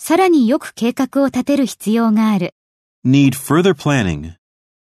さらによく計画を立てる必要がある。 Need further planning.